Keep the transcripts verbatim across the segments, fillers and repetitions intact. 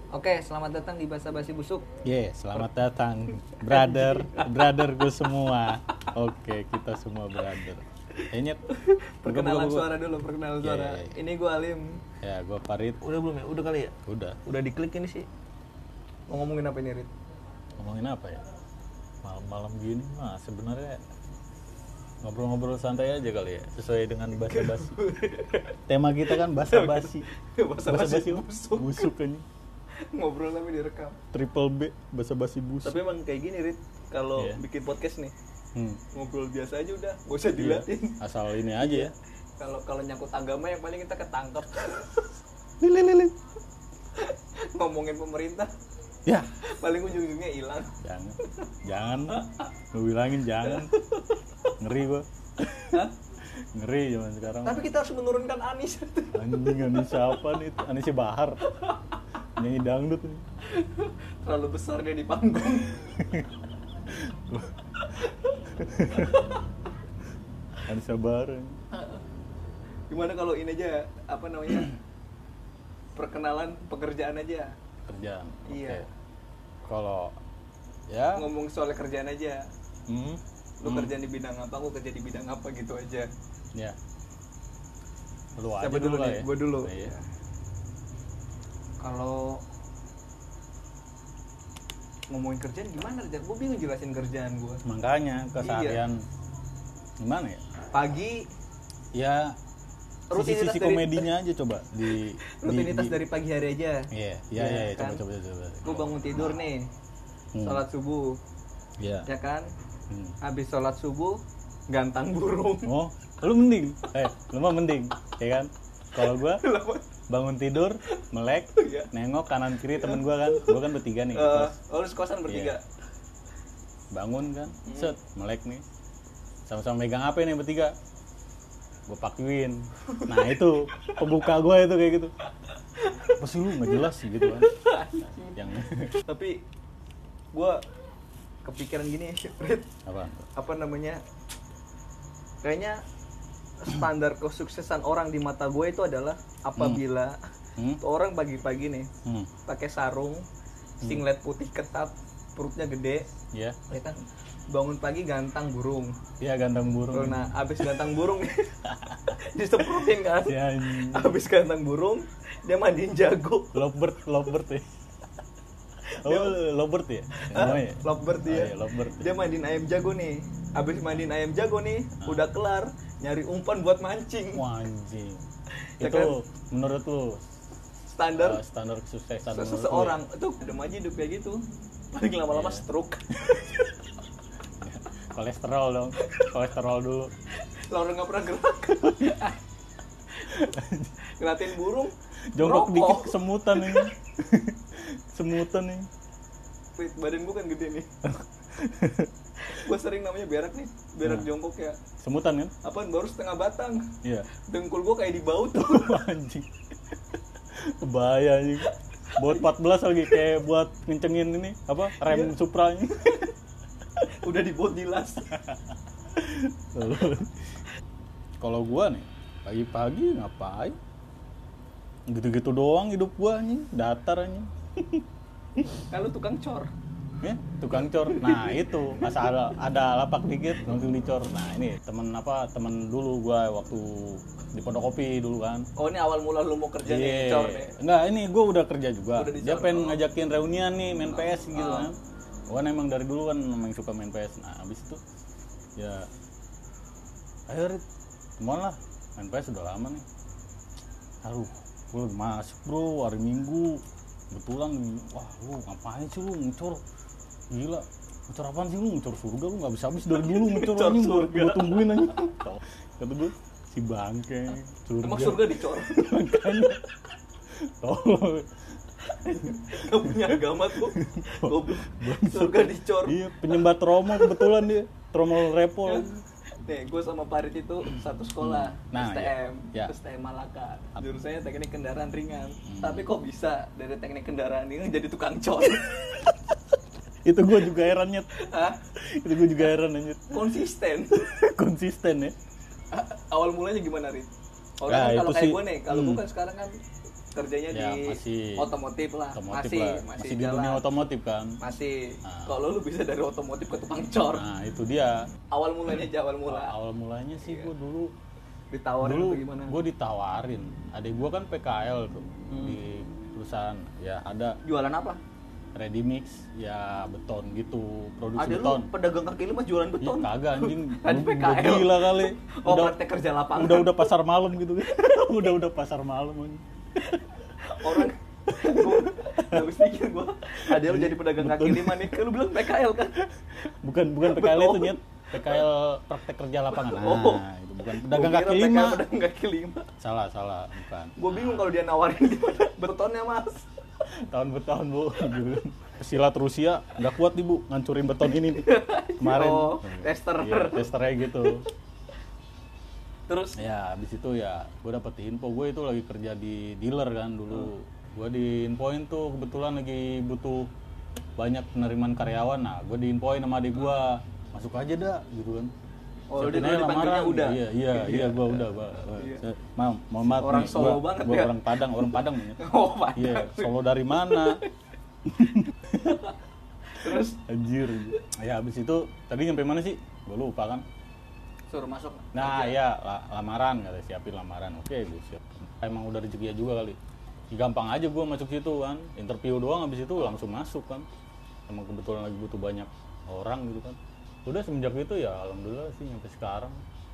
Oke, selamat datang di Basa Basi Busuk. Ye, yeah, selamat datang brother, brotherku semua. Oke, kita semua brother. Kayaknya perkenalan suara dulu, perkenalan suara. Yeah, yeah, yeah. Ini gue Alim. Ya, gue Farid. Udah belum ya? Udah kali ya? Udah. Udah diklik ini sih. Mau ngomongin apa ini, Rit? Ngomongin apa ya? Malam-malam gini mah sebenarnya ngobrol-ngobrol santai aja kali ya, sesuai dengan basa-basi. Tema kita kan basa-basi. Basa-basi busuk. Busuk kan. Ngobrol tapi direkam. Triple B, basa-basi busuk. Tapi emang kayak gini, Rit. Kalau yeah. bikin podcast nih, hmm. ngobrol biasa aja udah, gak usah diliatin. Yeah. Asal ini aja ya. Kalau kalau nyangkut agama yang paling kita ketangkep. Lili-lili. Ngomongin pemerintah. Ya. Paling ujung-ujungnya hilang. Jangan. Jangan. Gue bilangin jangan. Ngeri gua. Hah? Ngeri zaman sekarang. Tapi kita harus menurunkan Anis. Anjing, Anis siapa nih? Anis Bahar. Nyanyi dangdut nih. Terlalu besar dia di panggung. Anis Bahar. Gimana kalau ini aja, apa namanya? Perkenalan pekerjaan aja. Kerjaan. Iya. Okay. Kalau ya ngomong soal kerjaan aja. Hmm. Lu hmm. kerja di bidang apa, gua kerja di bidang apa gitu aja. Ya. Lu aja Siapa dulu nih? ya? Gua dulu. Nah, iya. Kalau ngomongin kerjaan gimana aja? Gua bingung jelasin kerjaan gua. Makanya keseharian iya. Gimana ya? Pagi ya rutinitas sisi-sisi komedinya aja coba di rutinitas di, dari pagi hari aja. Iya, iya, iya, ya, kan? coba coba coba. Gue bangun tidur nih. Hmm. Sholat subuh. Iya. Ya kan? Hmm. Habis sholat subuh gantang burung. Oh, lu mending. Eh, lu mah mending, ya kan? Kalau gua bangun tidur, melek, ya. Nengok kanan kiri temen gua kan. Gua kan bertiga nih. Uh, oh, lu sekosan bertiga. Iya. Bangun kan, set, melek nih. Sama-sama megang H P nih bertiga. Gue pakuin. Nah itu pembuka gue itu kayak gitu. Apa sih lu nggak jelas sih gitu kan? Yang tapi gue kepikiran gini, Fred. Apa? Apa namanya? Kayaknya standar kesuksesan orang di mata gue itu adalah apabila hmm. Hmm? orang pagi-pagi nih hmm. pakai sarung, singlet putih ketat, perutnya gede, yeah. ya kan? Bangun pagi gantang burung. Iya, gantang burung. Nah, abis gantang burung disemprotin kan. Ya, abis gantang burung dia mandiin jago. Lovebird, lovebird ya. Oh, dia, lovebird ya? Ah, ya? Lovebird dia. Oh, iya, lovebird. Dia mandiin ayam jago nih. Abis mandiin ayam jago nih, ah. udah kelar nyari umpan buat mancing. Wah, anjing. Ya itu kan? Menurut lu standar uh, standar kesuksesan seseorang itu udah maju hidup kayak gitu. Paling lama-lama yeah. stroke. Kolesterol dong, kolesterol dulu. Lalu nggak pernah gerak. Ngeliatin burung. Jongkok dikit kesemutan nih. Semutan nih. Wait, badan gue kan gede nih. Gue sering namanya berak nih, berak nah. jongkok ya. Semutan kan? Apaan baru setengah batang. Iya. Dengkul gue kayak dibaut. Anjing. Bahaya anjing. Buat empat belas lagi kayak buat ngencengin ini apa? Rem iya. Supra-nya. Udah dibuat dilas. Kalau gua nih pagi-pagi ngapain? Gitu-gitu doang hidup gua nih, datar anjing. Kalau tukang cor. Ya, tukang cor. Nah, itu masa ada ada lapak dikit langsung dicor. Nah, ini temen apa? Temen dulu gua waktu di Pondok Kopi dulu kan. Oh, ini awal mula lu mau kerja yeah. nih cor nih. Enggak, ini gua udah kerja juga. Udah Dia pengen oh. ngajakin reunian nih main P S gitu oh. kan. Gua emang dari dulu kan memang suka main P S. Nah, habis itu ya ayo Rit, kemana lah, main P S udah lama nih. Aduh, gue masuk bro, hari Minggu kebetulan, wah lu ngapain sih lu ngecor, gila, ngecor apaan sih lu, ngecor surga lu gak bisa habis dari dulu ngecor anjing, gue tungguin anjing. Kata gue, si bangke, surga. Emang surga dicor? Makanya, tolong. Gak punya agama tuh. Surga dicor. Iya, penyembah trauma kebetulan dia, trauma repol. Nih, gue sama Farid itu satu sekolah, nah, S T M, ya. S T M Malaka. Jurusannya teknik kendaraan ringan. Hmm. Tapi kok bisa dari teknik kendaraan ringan jadi tukang cor? Itu gue juga heran nyet. Hah? Itu gue juga heran nyet. Konsisten. Konsisten ya. Awal mulanya gimana, Rit? Oh, nah, kan kalau kayak sih, gue nih, kalau hmm. gue kan sekarang kan kerjanya ya, di masih otomotif lah, otomotif masih, lah. masih masih di jalan. dunia otomotif kan. Masih. Nah. Kalau lu bisa dari otomotif ke tukang cor. Nah itu dia. Awal mulanya aja awal mula. Awal mulanya sih Iya. gue dulu Ditawarin dulu atau gimana? gue ditawarin. Adik gue kan P K L tuh Hmm. di perusahaan. Ya ada Jualan apa? ready mix, ya beton gitu, produksi Ada beton. lu pedagang kaki lima jualan Ih, beton. kagak anjing, Kan Gua- P K L. gua gila kali. Oh, Udah praktek kerja lapangan. udah udah pasar malam gitu kan. udah udah pasar malam anjing. Orang gua nggak bisa mikir gua. Ada lu jadi pedagang kaki Beton. lima nih. Kan lu bilang P K L kan? Bukan bukan P K L itu Beton. nyet. P K L praktek kerja lapangan. Nah, Oh. itu bukan pedagang Gua kaki kira P K L lima. Pedagang kaki lima. Salah, salah, bukan. Gua bingung kalau dia nawarin di mana betonnya, Mas. Tahun bertahun bu gitu. Pesilat Rusia nggak kuat nih bu ngancurin beton ini nih. Kemarin Oh, tester. iya, testernya gitu. Terus Ya habis itu ya gue dapet info, gue itu lagi kerja di dealer kan dulu. Gue diinfoin tuh kebetulan lagi butuh banyak penerimaan karyawan. Nah gue diinfoin sama adik gue, masuk aja dah gitu kan. Oh, Siapin udah aja dipanggilnya lamaran. udah? Iya, iya, iya, gue udah, gue. Iya. Mam, mohon maaf Orang nih, Solo gua- banget gua ya? orang Padang, orang Padang nih. oh, Padang. Iya, Solo dari mana? Terus Anjir. Ya habis itu tadi nyampe mana sih? Gue lupa kan. suruh masuk. Nah kerja. ya la- lamaran, kata siapin lamaran. Oke gue siap. Emang udah rezekinya juga kali. Ya, gampang aja gue masuk situ kan. Interview doang habis itu langsung masuk kan. Emang kebetulan lagi butuh banyak orang gitu kan. Udah semenjak itu ya alhamdulillah sih sampai sekarang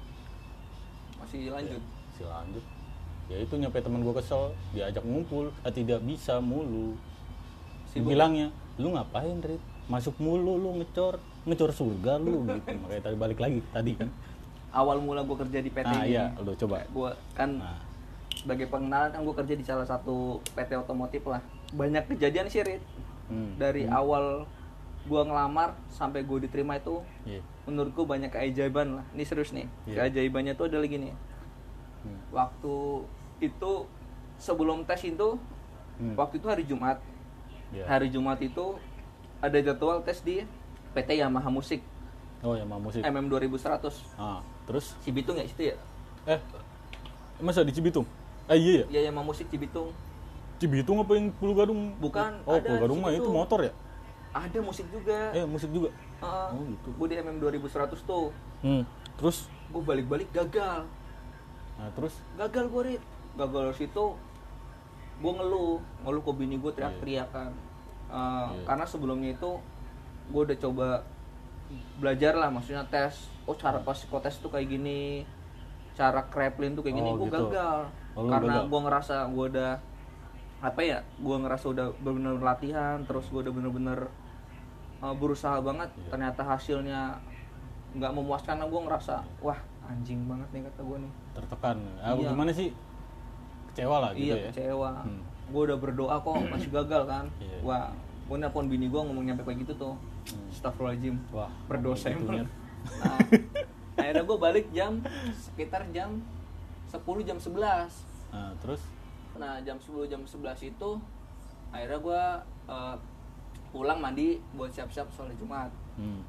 Masih lanjut. masih lanjut. Ya itu nyampe teman gue kesel, diajak ngumpul, ah, tidak bisa mulu. Sibuk. Bilangnya, lu ngapain Rit? Masuk mulu lu ngecor, ngecor surga lu gitu. Makanya tadi balik lagi tadi kan. Awal mula gue kerja di P T Nah ini. iya, udah coba. Gue kan Nah, sebagai pengenalan kan gue kerja di salah satu P T otomotif lah. Banyak kejadian sih, Rit. hmm. Dari hmm. awal gue ngelamar sampai gue diterima itu Iya. menurut gue banyak keajaiban lah. Ini serius nih. Iya. Keajaibannya tuh adalah gini. Hmm. Waktu itu sebelum tes itu, Hmm. waktu itu hari Jumat. Iya. Hari Jumat itu ada jadwal tes di P T Yamaha Musik Oh ya mau musik. M M dua ribu seratus. Ah, terus? Cibitung ya situ ya? Eh, masa di Cibitung? Eh iya ya? Iya Yamaha Musik Cibitung. Cibitung apa yang Pulau Gadung? Bukan, Oh, ada Pulau Gadung mah Cibitung. itu motor ya? Ada musik juga. Eh, musik juga. Heeh. Oh gitu. Gue di M M dua ribu seratus tuh. Hmm. Terus? Gue balik-balik gagal. Nah, terus? Gagal gue, Rit. Gagal dari situ gue ngeluh, ngeluh ke bini gue teriak-teriak kan. Uh, Iya. Karena sebelumnya itu gue udah coba belajar lah, maksudnya tes. Oh cara pas psikotes tuh kayak gini, cara kreplin tuh kayak gini. Oh, Gue gitu. gagal Oh, lu karena gagal. gue ngerasa gue udah apa ya, gue ngerasa udah bener-bener latihan, terus gue udah bener-bener uh, berusaha banget. Iya. Ternyata hasilnya nggak memuaskan. Gue ngerasa wah anjing banget nih kata gue nih. Tertekan. Ah, Iya. gimana sih? Kecewa lah gitu Iya ya. kecewa. Hmm. Gue udah berdoa kok masih gagal kan. Iya. Wah, gue nelpon bini gue ngomong nyampe kayak gitu tuh. Hmm. Astagfirullahaladzim. Wah, Berdosa gitu, emang. Nyet. Nah, akhirnya gue balik jam sekitar jam sepuluh jam sebelas. Nah, terus? Nah jam sepuluh jam sebelas itu akhirnya gue uh, pulang mandi buat siap-siap sholat Jumat. Hmm.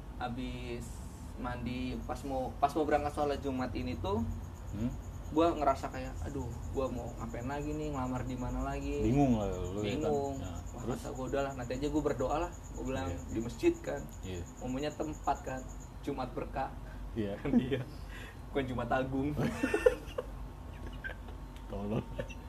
Habis mandi pas mau pas mau berangkat sholat Jumat ini tuh Hmm. gue ngerasa kayak aduh gue mau ngapain lagi nih, ngelamar di mana lagi. Bingung lah lu ya kan. Bingung. Nah, Wah, terus? kata gue udah lah, nanti aja gue berdoa lah. Gue bilang Iya. di masjid kan, Iya. umumnya tempat kan, Jumat berkah. Iya. Kan iya, bukan Jumat Agung. Tolong.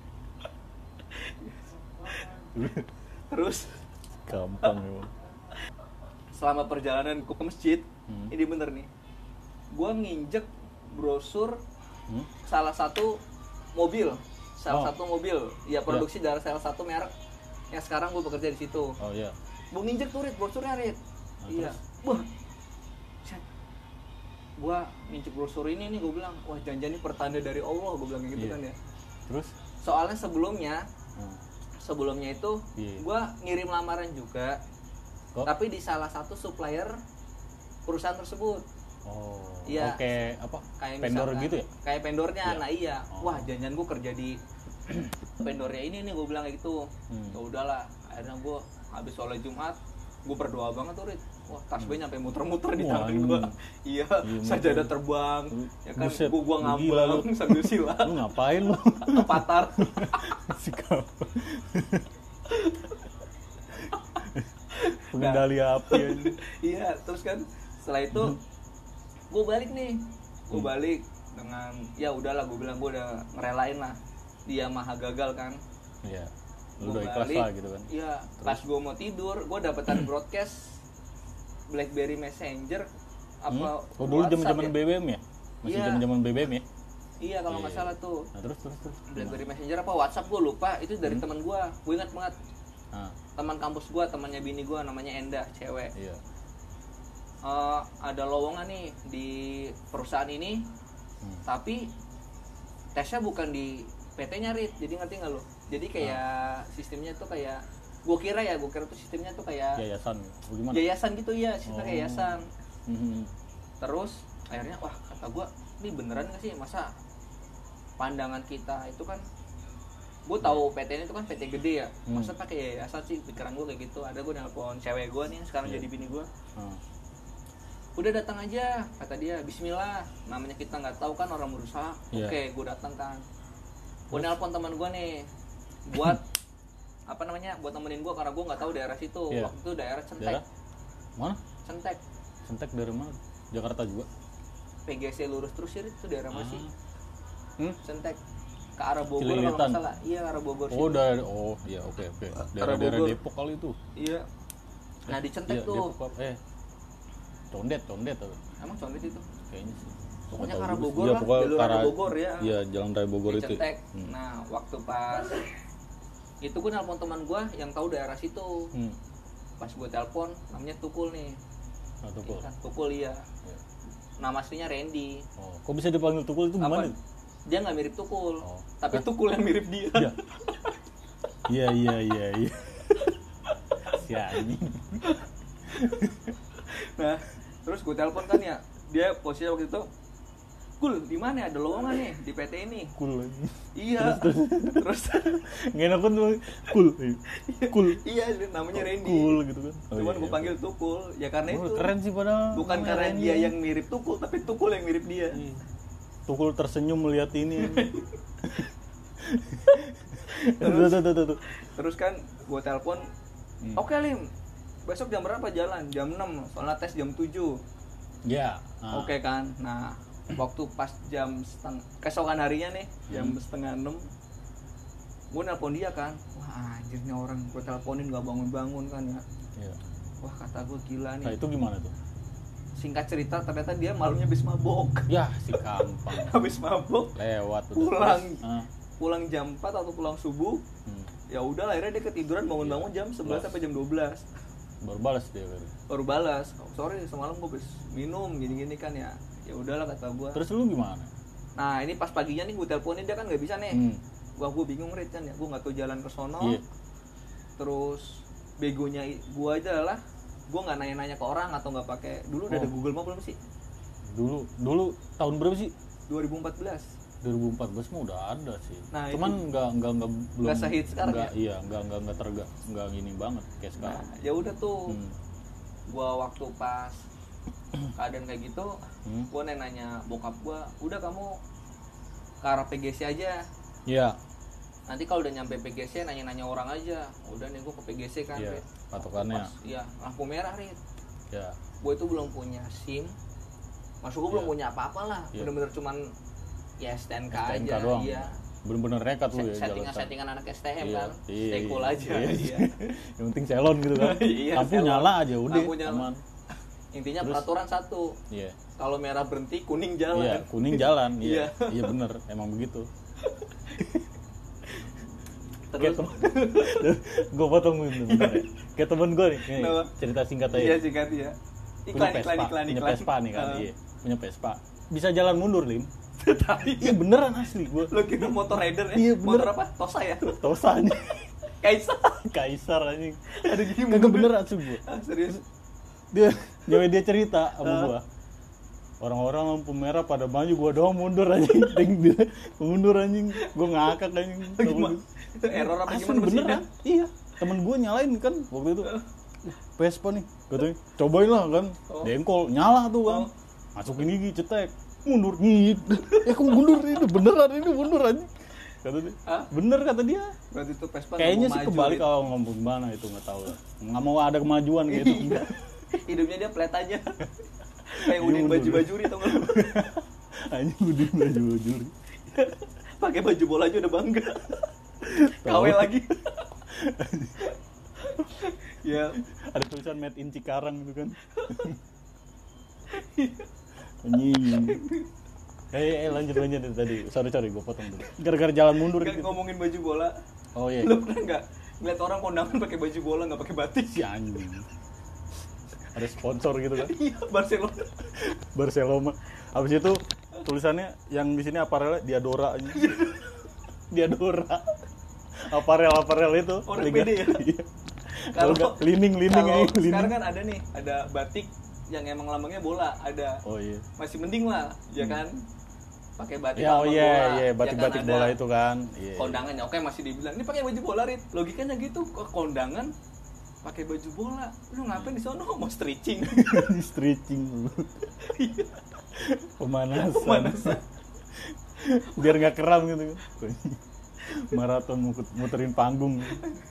Terus Gampang ya. selama perjalanan gue ke masjid, Hmm. ini bener nih, gue nginjek brosur Hmm? salah satu mobil, salah Oh. satu mobil, ya produksi dari salah satu merek yang sekarang gue bekerja di situ. Oh iya. Gue nginjek tuh Rit, brosurnya Rit. Nah, Iya. terus? Wah. Set. Gua nginjek brosur ini nih, gue bilang, wah jangan-jangan ini pertanda dari Allah, gue bilang kayak gitu Iya. kan ya. Terus? Soalnya sebelumnya, Hmm. sebelumnya itu Iya. gue ngirim lamaran juga, Kok? tapi di salah satu supplier perusahaan tersebut. Oh. Iya. Oke, apa? Kayak Vendor misalkan- gitu ya? Kayak vendornya, Iya. nah iya. Oh. Wah jangan-jangan gue kerja di vendornya ini nih, gue bilang kayak gitu. Hmm. Ya udahlah, akhirnya gue habis sholat Jumat, gue berdoa banget tuh Rit. wah tas gue nyampe muter-muter di Wah, tangan gue. Iya, iya, sajadah muter. terbang. Ya kan, Buset, gue gua lu gila ngambang lu. sambil silat. Lu ngapain lu? Patar. Si kau. Pengendali api aja. Iya, terus kan setelah itu gue balik nih. Gue Hmm. balik dengan ya udahlah, gue bilang gue udah ngerelain lah. Dia maha gagal kan. Iya. Gua Lu udah ikhlas balik, lah gitu kan. Iya, pas gue mau tidur, gue dapetan broadcast BlackBerry Messenger apa Hmm? Oh dulu WhatsApp zaman-zaman ya? B B M ya? Masih Iya. zaman-zaman B B M ya? Iya kalau nggak Iya. salah tuh. Nah, terus terus terus. BlackBerry Messenger apa WhatsApp gue lupa, itu dari Hmm. teman gue. Gue ingat banget. Ah, Teman kampus gue, temannya bini gue namanya Endah, cewek. iya. Eh, ada lowongan nih di perusahaan ini, Hmm. tapi tesnya bukan di P T-nya Rit, jadi ngerti nggak lo? Jadi kayak sistemnya tuh kayak, gue kira ya, gue kira tuh sistemnya tuh kayak Yayasan. Oh, gimana? yayasan gitu ya, sistemnya Oh. kayak yayasan. Hmm. Terus akhirnya wah kata gue, ini beneran nggak sih, masa pandangan kita itu kan, gue tahu P T ini itu kan P T gede ya, Hmm. masa pakai yayasan sih, pikiran gue kayak gitu. Ada gue nelpon cewek gue nih sekarang Iya. jadi bini gue, Ah. udah datang aja kata dia, Bismillah, namanya kita nggak tahu kan orang berusaha. Iya. Oke, gue datang kan, gue nelpon teman gue nih buat apa namanya, buat nemenin gue karena gue nggak tahu daerah situ. Iya. Waktu itu daerah Centek. Daerah? Mana? Centek Sentek dari mana? Jakarta juga. P G C lurus terus sih itu daerah mana sih? Ah. Hmm? Centek ke arah Bogor kalau Cililitan. nggak salah. Iya, arah Bogor Oh, situ. dari oh, iya oke oke. Daerah-daerah Bogor. Depok kali itu. Iya. Nah di Centek Iya, tuh, Depok, eh. Condet, Condet atau emang Condet itu. kayaknya sih. Pokoknya Nggak ke tahu arah juga Bogor sih. Iya, lah, pokoknya jalur ke arah arah- Bogor ya. Iya, Jalan Raya Bogor Di itu. Centek. Hmm. Nah waktu pas itu gue nelpon teman gue yang tahu daerah situ. Hmm. Pas gue telepon, namanya Tukul nih. Nah, Tukul. Iya kan, Tukul iya. Iya. Nama aslinya Randy. Oh, kok bisa dipanggil Tukul itu Apa? gimana? Dia nggak mirip Tukul, Oh. tapi Hah? Tukul yang mirip dia. Iya. Iya, iya, iya, iya. Si anjing. Nah, terus gue telepon kan ya, dia posisinya waktu itu, Kul, di mana ada lowongan nih di P T ini? Cool lagi. Iya. Terus, Nggak enak kan tuh. Cool. Cool. iya namanya Randy. Cool gitu kan. Oh, Cuman iya, gue iya. panggil Tukul, ya karena Oh, itu. keren sih padahal. Bukan namanya karena Randy. dia yang mirip Tukul, tapi Tukul yang mirip dia. Iya. Tukul tersenyum melihat ini. Tuh, tuh, tuh, tuh, tuh. Terus kan gue telepon, Hmm. oke Lim, besok jam berapa jalan? Jam enam, soalnya tes jam tujuh. Ya. ah. Oke kan, nah waktu pas jam setengah, keesokan harinya nih, jam Hmm. setengah enam, gue nelpon dia kan, wah anjirnya orang gue teleponin gak bangun-bangun kan ya. Iya. Wah kata gue gila Nah, nih. itu gimana tuh? Singkat cerita ternyata dia malamnya habis mabok. Ya, si gampang. Habis mabok, Lewat udah. Pulang. Terus, ah. pulang jam empat atau pulang subuh. Hmm. Ya udah akhirnya dia ketiduran bangun-bangun jam sebelas sampai jam dua belas. Baru balas dia baru. Baru balas, oh, sorry semalam gue habis minum gini-gini kan ya. Ya udahlah kata gue. Terus lu gimana? Nah ini pas paginya nih gue teleponin dia kan nggak bisa nih. Hmm. Wah gue bingung Rit kan ya, gue nggak tahu jalan ke sono. Iya. Terus begonya gue aja adalah gue nggak nanya-nanya ke orang atau nggak pakai. Dulu udah Oh. ada Google Map belum sih? Dulu dulu tahun berapa sih? dua ribu empat belas. dua ribu empat belas mah udah ada sih. Nah, Cuman itu. nggak nggak nggak belum Nggak sehits sekarang nggak, ya? Iya, nggak nggak nggak terga nggak gini banget kayak sekarang. Nah ya udah tuh, Hmm. gue waktu pas keadaan kayak gitu, Hmm. gue nanya bokap gue, udah kamu ke arah P G C aja. Iya. Nanti kalau udah nyampe P G C nanya-nanya orang aja. Udah nih gue ke P G C kan. Iya, Rit. patokannya. Pas, iya, lampu merah Rit. Ya. Gue itu belum punya SIM. Maksud gue belum Iya. punya apa-apa lah. Iya. Bener-bener cuman ya S T N K, S T N K aja. doang. Iya. Bener-bener nekat lu ya Settingan jalan. settingan anak S T M Iya, kan. iya, Stay cool iya, aja. iya. Iya. Yang penting salon gitu kan. Iya, Lampu salon. nyala aja udah Lampu nyala. aman. Intinya Terus? peraturan satu. Iya. Kalau merah berhenti, kuning jalan. Iya, kuning jalan. Iya. Iya. Iya bener, emang begitu. Terus Gue potong bentar ya. Kayak temen gue nih, nih, Kenapa? cerita singkat aja. iya singkat ya. Punya Iklan, Vespa, iklan, iklan, punya iklan. Vespa nih kan, Ah. iya. Punya Vespa. Bisa jalan mundur, Lim. Tapi Iya beneran asli gue. lo kira motor rider ya? Iya, bener. Motor apa? Tosa ya? Tosanya Kaisar. Kaisar anjing. Ada gini Kagak mundur. bener asli gue. Ah, serius. Dia nyawa dia cerita sama Ah. gua. Orang-orang lampu merah pada maju, gua doang mundur anjing. Ting dia mundur anjing. Gua ngakak anjing. Gimana? Itu error apa Asli gimana beneran? mesinnya? Iya. Temen gua nyalain kan waktu itu. Vespa nih katanya, cobain lah kan. Oh. Dengkol nyala tuh kan. Oh. Masukin gigi cetek, mundur nyit. Ya kok mundur ini beneran ini mundur aja. Kata dia. Hah? Bener kata dia. Berarti itu Vespa kayaknya sih kebalik kalau ngomong gimana itu enggak tahu lah. Enggak mau ada kemajuan gitu. Hidupnya dia flat aja. Kayak Udin baju-bajuri tau enggak lu? Anjing Udin baju-bajuri. Pakai baju bola aja udah bangga. K W lagi. Ya, ada tulisan made in Cikarang gitu kan. Anjing. Eh, eh lanjut lanjut tadi. Sorry sorry gue potong dulu. Gara-gara jalan mundur gitu. Ngomongin baju bola. Oh iya. Lu pernah enggak ngeliat orang kondangan pakai baju bola enggak pakai batik? Si anjing. Ada sponsor gitu kan? Iya, Barcelona. Barcelona. Habis itu tulisannya yang di sini aparelnya Diadora aja. Diadora. Aparel aparel itu. Oh, pede ya. Kalau lining lining aja. Lining. Sekarang kan ada nih, ada batik yang emang lambangnya bola, ada. Oh iya. Masih mending lah, ya kan? Pakai batik ya, oh, iya, bola. Iya, batik-batik ya kan, bola itu kan. Iya. Kondangannya oke masih dibilang, "Ini pakai baju bola, Rit." Logikanya gitu, kok kondangan pakai baju bola. Lu ngapain di sono? Mau stretching. Stretching. Pemanasan. Pemanasan. Biar enggak keram gitu. Maraton muterin panggung.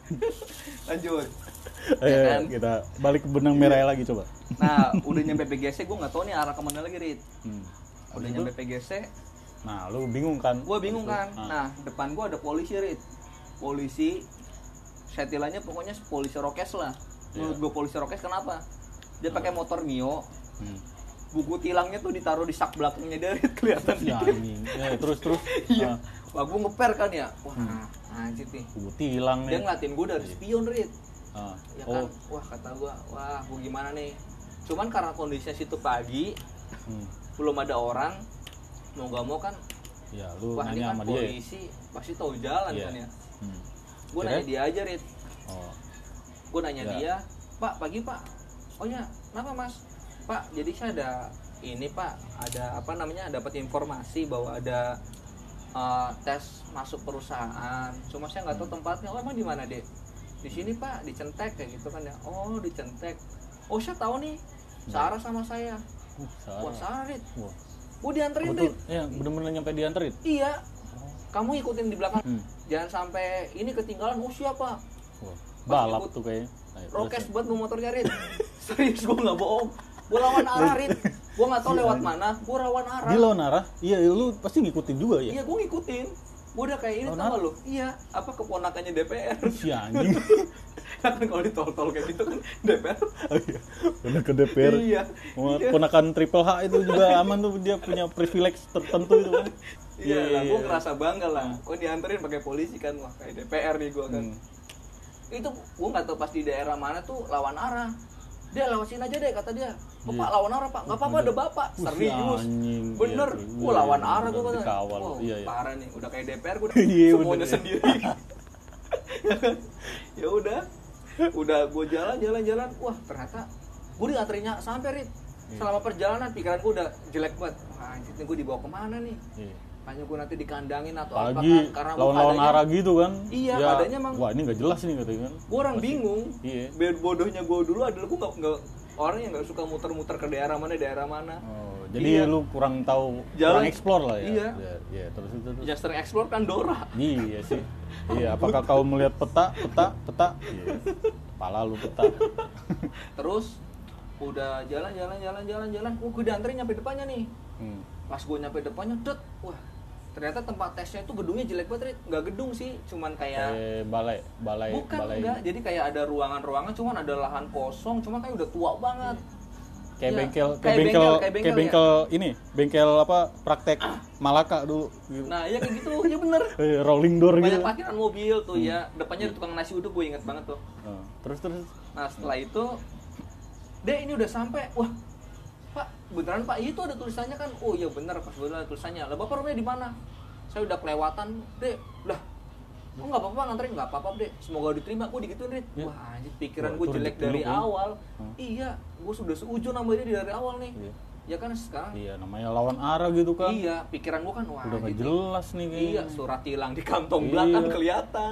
Lanjut. Ya kan? Kita balik ke benang merah lagi coba. Nah, udah nyampe P G C, gue nggak tahu nih arah kemana lagi, Rit. Hmm. Udah nyampe P G C. Nah, lu bingung kan? Gue bingung kan. Ah. Nah, depan gue ada polisi, Rit. Polisi. Setilannya pokoknya polisi rokes lah. Menurut yeah. gue polisi rokes kenapa? Dia pakai motor Mio. Hmm. Buku tilangnya tuh ditaruh di sak belakangnya dia, Rit. Kelihatan ya, gitu. Ya, terus terus. Iya. Wah, gue ngeper kan ya. Wah, hmm. anjir nih. Buku tilang nih. Dia ngeliatin gue dari spion, Rit. Ah. Ya kan, oh. Wah kata gua, wah gua gimana nih. Cuman karena kondisinya situ pagi, hmm. belum ada orang, mau gak mau kan. Ya, lu wah, nanya kan sama dia. Polisi ya? Pasti tahu jalan yeah. kan ya. Hmm. Gua Kira? nanya dia aja, Rit. Oh. Gua nanya ya. dia, "Pak, pagi Pak." "Oh ya, kenapa Mas?" "Pak, jadi saya ada ini Pak, ada apa namanya? Dapat informasi bahwa ada uh, tes masuk perusahaan. Cuma saya nggak tahu tempatnya." "Oh, emang di mana, Dek?" "Di sini Pak, di Centek," kayak gitu kan ya. "Oh, di Centek. Oh, saya tahu nih. Sarah sama saya." Uh, Sarah. Wah, Sarah, Rit. Wah. Gua dianterin, Rit. Ya, bener-bener nyampe dianterin. Iya. Oh. Kamu ikutin di belakang. Hmm. Jangan sampai ini ketinggalan. Oh, siapa? Wah. Balap tuh kayaknya. Rokes buat mau motornya, Rit. Serius, gua enggak bohong. Gua lawan arah, Rit. Gua enggak tahu lewat mana. Gua lawan arah. Dia lawan arah? Iya, lu pasti ngikutin juga ya? Iya, gua ngikutin. Gue udah kayak ini tau gak lu? Iya, apa keponakannya D P R. Si anjing. Kan kalau ditol-tol kayak gitu kan D P R. Oh iya, bener ke D P R. Iya. Ponakan Triple H itu juga aman tuh, dia punya privilege tertentu itu kan. Iya lah, gue ngerasa bangga lah. Gue dianterin pakai polisi kan, wah kayak D P R nih gue kan. Hmm. Itu gue nggak tahu pas di daerah mana tuh lawan arah. Dia lewat sini aja deh kata dia. "Oh, Pak, lawan arah Pak." "Nggak apa-apa, ada Bapak." Serius. Bener. Gue lawan arah gue kan. Wow, iya, iya. Parah nih. Udah kayak D P R gue semuanya sendiri. Ya udah. Udah gue jalan-jalan-jalan. Wah, ternyata gue dianterinya sampai, Rit. Selama perjalanan pikiran gue udah jelek banget. Wah, anjir nih gue dibawa kemana nih? Hanya gue nanti dikandangin atau apa kan, karena lawan-lawan arah gitu kan. Iya, ya, adanya emang. Wah, ini nggak jelas nih katanya kan. Gue orang Masih, bingung. Iya. Biar bodohnya gue dulu adalah gue nggak nggak orang yang nggak suka muter-muter ke daerah mana daerah mana. Oh, jadi iya. lu kurang tahu, jalan, kurang explore lah ya. Iya. Ya, ya terus itu terus. Yang sering explore kan Dora. Iya sih. Iya, apakah kau melihat peta, peta, peta? Iya. Pala lu peta. Terus udah jalan-jalan jalan-jalan jalan. Oh, gue dianterin nyampe depannya nih. Hmm. Pas gue nyampe depannya, det, wah. Ternyata tempat tesnya itu gedungnya jelek banget, nggak gedung sih, cuman kayak eh, balai, balai, bukan balai. Enggak, jadi kayak ada ruangan-ruangan, cuman ada lahan kosong, cuman kayak udah tua banget. Kayak ya, bengkel, kayak, kayak bengkel, bengkel, kayak bengkel, kayak bengkel ya? Ini, bengkel apa? Praktek ah. Malaka dulu. Gitu. Nah, ya kayak gitu, ya bener. Rolling door banyak gitu. Banyak parkiran mobil tuh hmm. ya, depannya ada tukang nasi uduk, gue inget banget tuh. Hmm. Terus terus. Nah setelah itu, deh ini udah sampai, wah. Pak, beneran Pak, itu ada tulisannya kan? Oh iya bener, pas bener ada tulisannya. Lah Bapak rumahnya di mana? Saya udah kelewatan, Dek. Lah, oh nggak apa-apa nganterin, nggak apa-apa, Dek. Semoga diterima. Gue digituin, Rit. Ya. Wah, anjir pikiran gue jelek dari kan? awal. Hmm. Iya, gue sudah seujun sama dia dari awal nih. Iya. Ya kan sekarang. Iya, namanya lawan arah gitu kan. Iya, pikiran gue kan wah. Udah nggak jelas nih kayaknya. Iya, surat tilang di kantong iya. belakang kelihatan.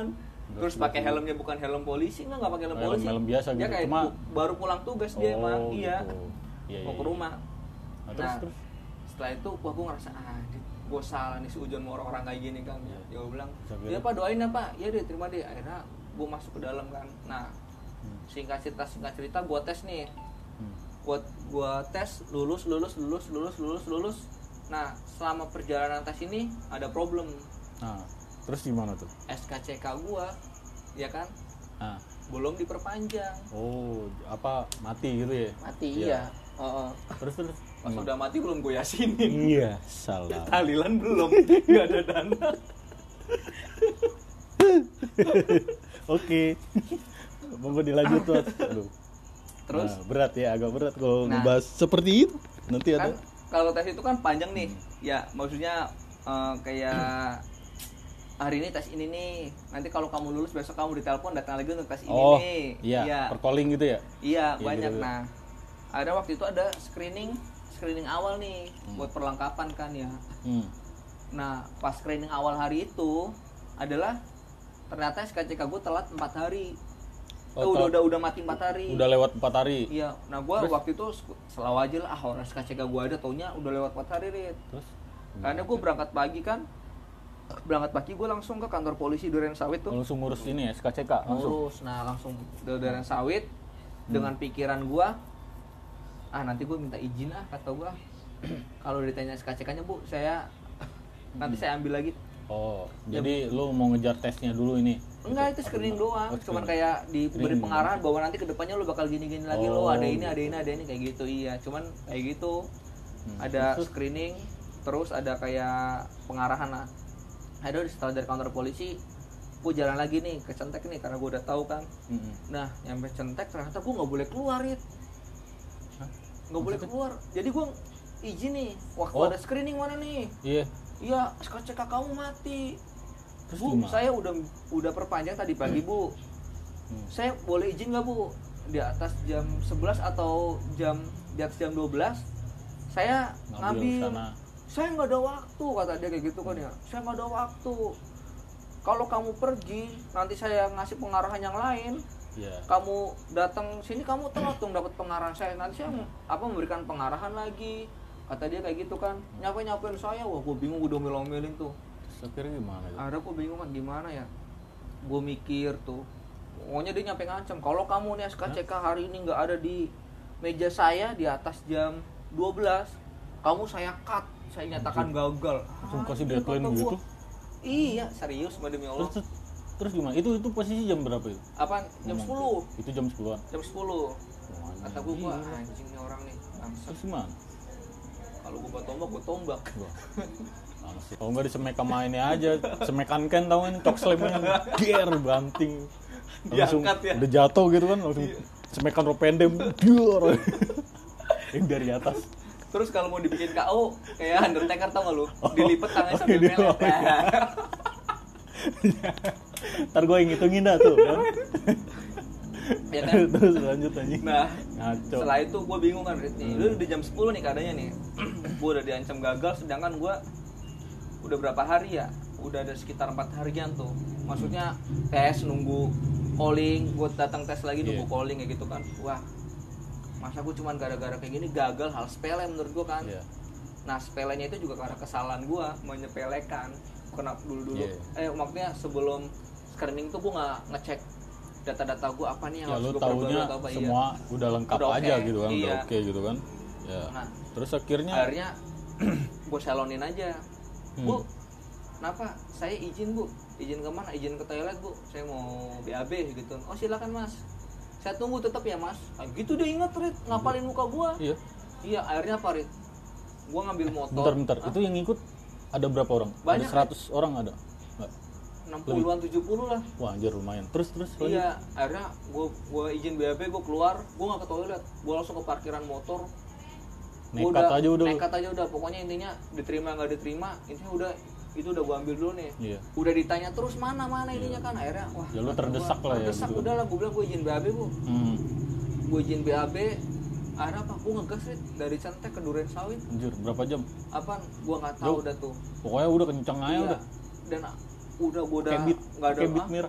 Terus pakai helmnya bukan helm polisi, enggak enggak pakai helm, helm polisi. helm biasa dia gitu. kayak Cuma pu- baru pulang tugas dia oh, emang iya. Gitu. Iya, Mau iya, ke iya. rumah. Nah, terus Nah, terus setelah itu wah gue ngerasa ah gue salah nih seujun sama orang-orang kayak gini kan. Ya, ya gue bilang, Sampai "Ya Pak, doain ya Pak." Ya deh, terima deh. Akhirnya gue masuk ke dalam kan. Nah, singkat cerita singkat cerita gue tes nih. hmm. Gue gue tes lulus lulus lulus lulus lulus lulus. Nah, selama perjalanan tes ini ada problem. Nah, terus gimana tuh? S K C K gue, ya kan, Nah, belum diperpanjang. oh, apa mati gitu ya? Mati Iya. iya. Oh, oh. Terus terus Pas gimana? udah mati belum gue yasinin. Iya, salah. Tahlilan belum, nggak ada dana. Oke. Monggo dilanjut tuh. Aduh. Terus Nah, berat ya, agak berat kalau Nah. ngebahas seperti itu. Nanti kan ada. kalau tes itu kan panjang nih. Ya, maksudnya eh, kayak hari ini tes ini nih. Nanti kalau kamu lulus besok kamu ditelepon datang lagi untuk tes ini Oh, nih. iya, Iya, per calling gitu ya? iya, Iya, banyak. gitu. Nah, ada waktu itu ada screening screening awal nih buat perlengkapan kan ya. Hmm. Nah, pas screening awal hari itu adalah ternyata S K C K gue telat empat hari. Oh, Eh, udah telat. udah udah mati empat hari. Udah lewat empat hari. Iya, nah gue Terus? waktu itu selalu aja lah, ah orang S K C K gue ada, taunya udah lewat empat hari, Rit. Terus Karena gue berangkat pagi kan, berangkat pagi gue langsung ke kantor polisi Duren Sawit tuh. langsung ngurus ini ya, S K C K langsung. Ngurus, nah langsung ke Duren Sawit dengan pikiran gue, ah nanti gue minta izin ah kata gue, kalau ditanya S K C K-nya bu, saya nanti saya ambil lagi. Oh, jadi lu mau ngejar tesnya dulu ini? Enggak, itu screening doang, Oh, cuman screening. kayak diberi Screening pengarahan bahwa nanti kedepannya lo bakal gini-gini lagi, lo Oh, ada ini, gitu. ada ini, ada ini kayak gitu, iya. Cuman kayak gitu, Hmm. ada Terus? screening, terus ada kayak pengarahan lah. Ada setelah dari kantor polisi, gue jalan lagi nih ke Centek nih karena gue udah tahu kan. Mm-mm. Nah, nyampe Centek ternyata gue nggak boleh keluar, Rit. Hah? Nggak boleh Maksudnya? keluar. Jadi gue izin nih, waktu Oh. ada screening mana nih? Iya. Iya, S K C K kamu mati. Terus Bu, gimana? saya udah udah perpanjang tadi pagi, Bu. Hmm. Saya boleh izin nggak, Bu? Di atas jam sebelas atau jam di atas jam dua belas saya Ngambil ngambil. sana. Saya nggak ada waktu, kata dia kayak gitu kan ya. Saya nggak ada waktu. Kalau kamu pergi, nanti saya ngasih pengarahan yang lain. Iya. Kamu datang sini kamu telat dong dapat pengarahan saya. Nanti saya apa memberikan pengarahan lagi. Kata dia kayak gitu kan. Nyapain-nyapain saya. Wah, gue bingung, udah omel-omelin tuh. Terus akhirnya gimana itu? Ada gue bingung kan gimana ya. Gue mikir tuh. Pokoknya dia nyampe ngancam, kalau kamu nih S K C K hari ini nggak ada di meja saya di atas jam dua belas, kamu saya cut, saya nyatakan gagal. Langsung Ah, kasih iya, deadline kata gua. gitu? Iya, serius demi Allah. Terus, terus terus gimana? Itu itu posisi jam berapa itu? Apaan? Jam Ngomong. sepuluh. Itu jam sepuluhan. Jam sepuluh. Oh, Kata gue, gua gila. anjing nih orang nih. Bangsat. Terus gimana? Kalau gue buat tombak, gue tombak. Wah. Langsung. Kalau nggak disemek sama ini aja, semekan kan tau kan, cok slamnya ger banting. Langsung Diangkat ya. udah jatuh gitu kan, langsung semekan ropendem, ger. Yang dari atas. Terus kalau mau dibikin K O kayak Undertaker tau gak lu? Oh. Dilipet tangannya sambil Di melet. bawah. Ntar gue yang ngitungin dah tuh kan. Ya kan? Terus lanjut anjing. Nah, Ngaco. setelah itu gue bingung kan, Rit, nih. Lu udah jam sepuluh nih keadaannya nih. Gue udah diancam gagal, sedangkan gue udah berapa hari ya? Udah ada sekitar empat harian tuh. Maksudnya tes, nunggu calling, gue datang tes lagi nunggu Iya. calling kayak gitu kan. Wah, masa gue cuman gara-gara kayak gini gagal, hal sepele menurut gue kan. Iya. Nah, sepelenya itu juga karena kesalahan gue menyepelekan. Kenapa dulu-dulu? Iya. Eh, maksudnya sebelum screening tuh gue nggak ngecek data-data gue apa nih yang Ya harus lu gue taunya perbarui atau apa. semua udah lengkap Udah aja oke. gitu kan, udah Iya. oke gitu kan. Ya. Nah, Terus akhirnya akhirnya gue salonin aja. Hmm. Bu, kenapa? Saya izin, Bu. Izin kemana? Izin ke toilet, Bu. Saya mau B A B gitu. Oh, silakan, Mas. Saya tunggu tetap ya, Mas. Nah, gitu dia inget, Rit, ngapalin muka gua. Iya. Iya, akhirnya apa, Rit? Gua ngambil motor. Bentar bentar. Hah? Itu yang ngikut ada berapa orang? Banyak, Ada seratus orang ada? Enggak. enam puluhan tujuh puluh lah. Wah, anjir lumayan. Terus terus lanjut. Iya, akhirnya gua gua izin B A B, gua keluar, gua nggak ke toilet. Gua langsung ke parkiran motor. Gua Nekat aja udah. lu. Nekat aja udah. Pokoknya intinya diterima nggak diterima, intinya udah itu udah gua ambil dulu nih. Iya. Udah ditanya terus mana mana ininya kan, akhirnya wah. Ya lu kata terdesak gua, lah ya terdesak gitu. udah lah, gua bilang gua izin B A B, Bu. Hmm. Gua izin B A B. Akhirnya apa? Gua ngegas, Rit, dari Centek ke Duren Sawit. Anjir, berapa jam? Apaan? Gua nggak tahu Jauh. udah tuh. Pokoknya udah kencang aja Iya. udah. Dan udah gua udah Kayak beat, nggak ada kayak beat ah, merah.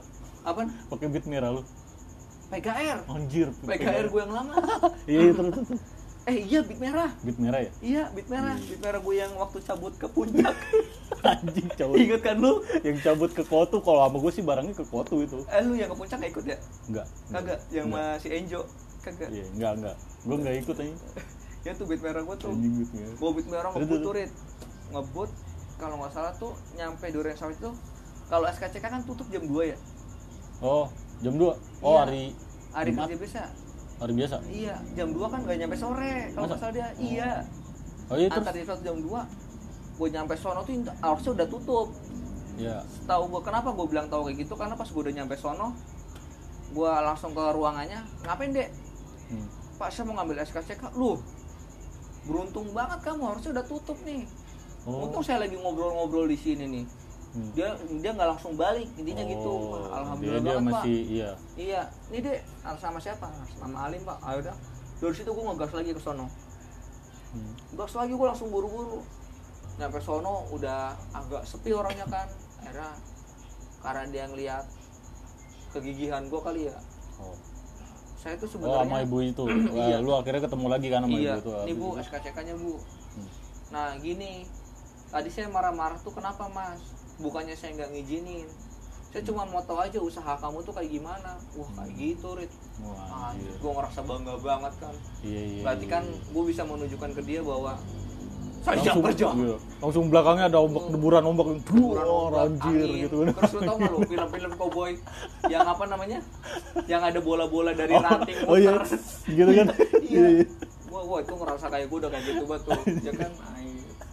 Apaan? Pakai beat merah lu. P K R. Anjir. P K R gue yang lama. Iya, terus terus. Eh iya beat merah. Beat merah ya? Iya beat merah. Beat merah gue yang waktu cabut ke puncak. Anjing cabut. Ingat kan lu? Yang cabut ke Kotu, kalau sama gue sih barangnya ke Kotu itu. Eh lu yang ke puncak gak ikut ya? Enggak. Kagak. Yang Enggak. masih Enjo. Kagak. Iya, enggak enggak. Gue enggak ikut anjing. Ya tuh beat merah gue tuh. Anjing beat merah. Gue beat merah Aduh, ngebut aduh. turit. Ngebut kalau nggak salah tuh nyampe Duren Sawit tuh. Kalau S K C K kan tutup jam dua ya? Oh, jam dua. Oh, Iya. hari Hari Jumat? kerja biasa. Hari biasa. Iya, jam dua kan nggak nyampe sore. Kalau nggak Masa? salah dia, iya. Oh iya terus. Antar jam satu jam dua. Gue nyampe sono tuh harusnya udah tutup. Iya. Tahu gue kenapa gue bilang tahu kayak gitu, karena pas gue udah nyampe sono, gue langsung ke ruangannya. Ngapain dek? Hmm. Pak saya mau ngambil S K C K. Lu beruntung banget kamu, harusnya udah tutup nih. Oh. Untung saya lagi ngobrol-ngobrol di sini nih. Hmm. Dia dia nggak langsung balik, intinya Oh, gitu. Wah, alhamdulillah dia, dia banget, masih Pak. iya. Iya, ini dek sama siapa? Sama Alim Pak. Ayo dah. Dari situ gue ngegas lagi ke sono. Hmm. Gas lagi gue langsung buru-buru. Nyampe sono udah agak sepi orangnya kan. Akhirnya karena dia ngeliat kegigihan gue kali ya. Oh. Saya tuh Oh, sebenarnya sama ibu itu. Iya. Wah, lu akhirnya ketemu lagi kan sama iya, ibu itu. ini habis Bu itu. S K C K-nya Bu. Hmm. Nah gini, tadi saya marah-marah tuh kenapa Mas? Bukannya saya nggak ngizinin. Saya cuma mau tahu aja usaha kamu tuh kayak gimana. Wah kayak gitu Rit. Wah, anjir. Gue ngerasa bangga banget kan. Iya, iya. Berarti iya, kan iya. gue bisa menunjukkan ke dia bahwa saya langsung, kerja. iya. Langsung belakangnya ada ombak deburan ombak yang Deburan oh, ombak, anjir angin. gitu. Terus lu tau gak lu film-film cowboy yang apa namanya? Yang ada bola-bola dari Oh, ranting oh iya. muter. Gitu kan. Iya. Wah, wah itu ngerasa kayak gue udah kayak gitu banget tuh. Ya kan? Ay.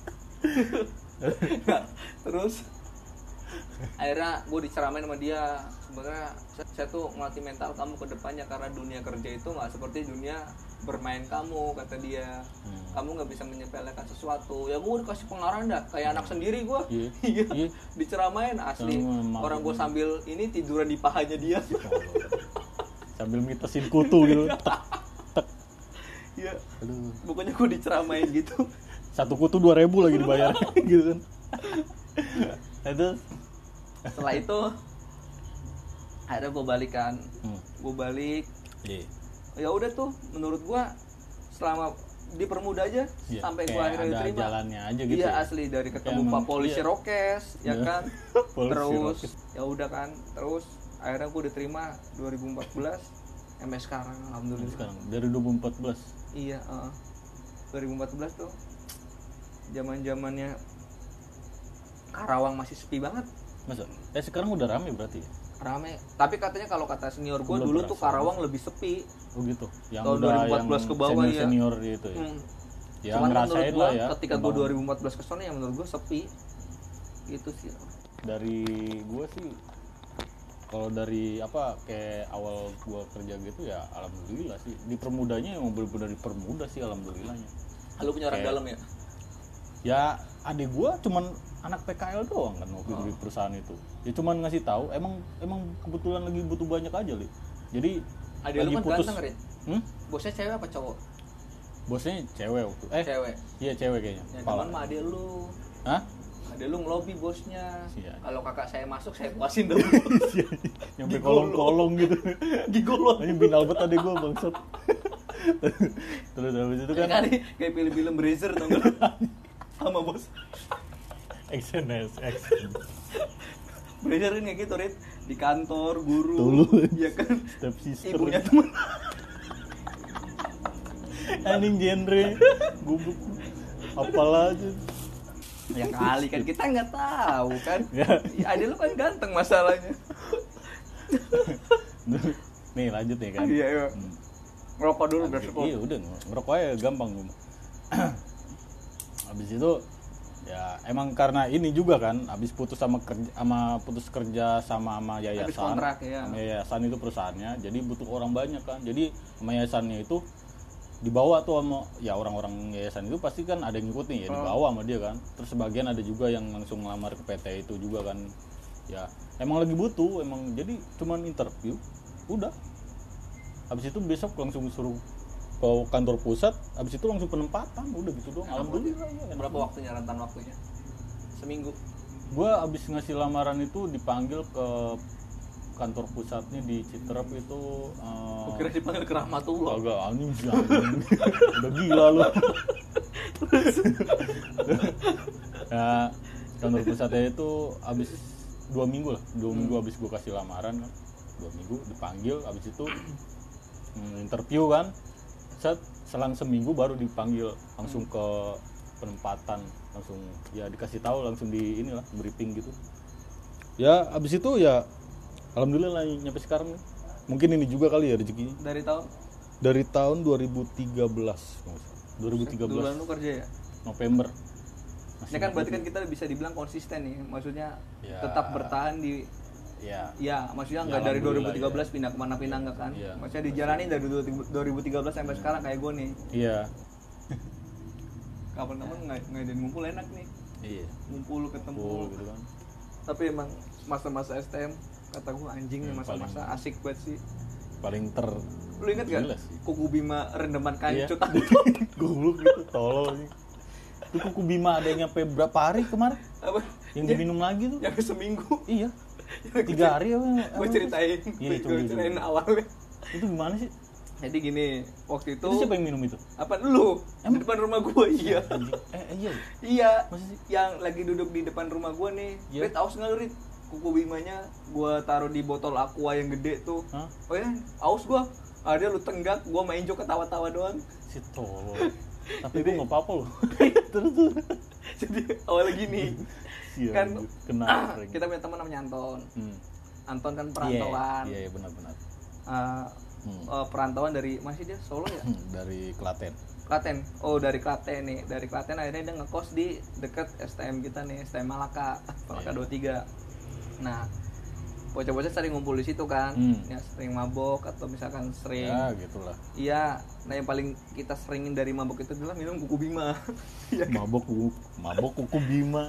Nah, terus akhirnya gue diceramain sama dia, sebenarnya saya, saya tuh ngelatih mental kamu ke depannya karena dunia kerja itu nggak seperti dunia bermain kamu, kata dia. Hmm. Kamu nggak bisa menyepelekan sesuatu. Ya gue udah kasih pengarahan dah kayak anak sendiri gue. Iya. Iya. Iya. Diceramain asli. Sama, Orang gue maaf. sambil ini tiduran di pahanya dia. Sambil mitesin kutu gitu. Tek, tek. Iya. Aduh. Pokoknya gue diceramain gitu. Satu kutu dua ribu lagi dibayar gitu kan. Itu Setelah itu akhirnya gue balikan. hmm. Gue balik. Iya. Ya udah tuh menurut gue selama dipermudah aja Iya, sampai gue kayak akhirnya ada diterima. jalannya aja gitu. Iya ya. asli dari ketemu Kayak Pak emang- Polisi iya. Rokes ya Iya. kan. Polisi Terus Rokes. ya udah kan. Terus akhirnya gue diterima dua ribu empat belas sampai sekarang alhamdulillah. Sekarang dari dua ribu empat belas. Iya, uh, dua ribu empat belas tuh zaman-zamannya Karawang masih sepi banget, Masa? Eh sekarang udah rame berarti ya? rame. Tapi katanya kalau kata senior gue Belum dulu tuh berasa. Karawang lebih sepi. Oh gitu. Yang Tahun udah dua ribu empat belas yang ke bawah, senior ya. senior gitu ya. Hmm. Ya Cuman menurut ngerasain gue lah ya. ketika gue Emang dua ribu empat belas ke sana ya menurut gue sepi. Gitu sih. dari gua sih kalau dari apa kayak awal gua kerja gitu ya alhamdulillah sih dipermudahnya yang benar-benar dipermudah sih alhamdulillahnya. Lu punya orang Kayak- dalam ya? Ya adik gua cuman anak P K L doang kan waktu itu Oh. di perusahaan itu. Ya cuman ngasih tahu emang emang kebetulan lagi butuh banyak aja li. Jadi Ada lu lagi kan putus. ganteng, Rin. Hmm? Bosnya cewek apa cowok? Bosnya cewek waktu. Eh Cewek. iya cewek kayaknya. Ya Kepala. teman mah ada lu. Hah? Ada lu ngelobi bosnya. Iya. Kalau kakak saya masuk saya puasin dulu. Nyampe Gigolo. kolong-kolong gitu. Gigolo. Ini binal banget adek gua bangsat. Terus habis itu Kayak kan kali kayak film-film Brazzer tau gak? Sama bos. X N S X. Brazzer kan kayak gitu, Rit. Di kantor, guru. Dulu. Ya kan. Step sister. Ibunya teman. Anjing genre. Goblok. Apalah aja. Ya kali kan kita nggak tahu kan. Ya. Ya, ada lu kan ganteng masalahnya. Nih lanjut nih kan. Iya, iya. Hmm. Ngerokok dulu biar Lanjut. cukup. Iya udah ngerokok aja gampang gua. Habis itu ya emang karena ini juga kan habis putus sama kerja sama putus kerja sama sama yayasan. Habis kontrak, ya. Sama yayasan itu perusahaannya. Jadi butuh orang banyak kan. Jadi sama yayasannya itu dibawa tuh sama ya orang-orang yayasan itu pasti kan ada yang ngikut nih ya Oh. dibawa sama dia kan. Terus sebagian ada juga yang langsung ngelamar ke P T itu juga kan. Ya emang lagi butuh emang jadi cuman interview udah. Habis itu besok langsung suruh ke kantor pusat, habis itu langsung penempatan, udah gitu doang. Alhamdulillah ya. enak. Berapa waktunya rentan waktunya? Seminggu. Gua habis ngasih lamaran itu dipanggil ke kantor pusatnya di Citerep itu uh, Gua kira dipanggil ke Rahmatullah. agak anjing sih anjing. Udah gila lu. Nah, kantor pusatnya itu abis dua minggu lah, dua hmm. minggu abis gue kasih lamaran kan, dua minggu dipanggil, abis itu hmm, interview kan, set selang seminggu baru dipanggil langsung ke penempatan, langsung ya dikasih tahu langsung di inilah briefing gitu. Ya abis itu ya alhamdulillah lah nyampe sekarang nih. Mungkin ini juga kali ya rezekinya. Dari tahun? Dari tahun dua ribu tiga belas. dua ribu tiga belas. Duluan lu kerja ya? November. Ini kan berarti kan kita bisa dibilang konsisten nih, maksudnya ya, tetap bertahan di ya, ya maksudnya nggak ya, dari dua ribu tiga belas ya. Pindah kemana-pindah nggak kan? Ya, maksudnya dijalanin dari dua ribu tiga belas sampai hmm. sekarang kayak gue nih. Iya. Kapan-kapan nggak ngadain ngumpul enak nih. Iya. Ngumpul ketemu. Ngumpul, gitu kan. Tapi emang masa-masa S T M kata gue anjing nih, masa-masa paling, asik banget sih. Paling ter. Lu inget gak? Kuku Bima rendeman kancut. Goblok gitu, tolol sih. Itu Kuku Bima ada yang nyampe berapa hari kemarin? Apa? Yang diminum lagi tuh? Yang seminggu. Iya. Tiga hari apa? Gue ceritain. Iya, gue ceritain awalnya. Itu gimana sih? Jadi gini, waktu itu. Itu siapa yang minum itu? Apa lu? Emang? Di depan rumah gue, iya. Eh, iya. Iya. Yang lagi duduk di depan rumah gue nih. Yeah. Rit, aus nggak lu, Rit? Kuku Bimanya gue taruh di botol aqua yang gede tuh. Hah? Oh ya, aus gue. Ada lu tenggak, gue main jo ketawa-tawa doang. Si tolol. Tapi gue nggak apa-apa loh. Terus tuh. Jadi awalnya gini. Iya, kan kena ah, kita punya teman namanya Anton. Hmm. Anton kan perantauan. Iya, yeah, yeah, benar-benar. Uh, hmm. uh, perantauan dari masih dia Solo ya? Hmm, dari Klaten. Klaten. Oh, dari Klaten nih. Dari Klaten akhirnya dia ngekos di dekat S T M kita nih, S T M Malaka, Malaka yeah. dua puluh tiga. Nah, bocah-bocah sering ngumpul di situ kan, hmm. ya sering mabok atau misalkan sering. Ya, gitulah. Iya, nah yang paling kita seringin dari mabok itu adalah minum Kuku Bima. Ya, kan? Mabok kuku, mabok Kuku Bima.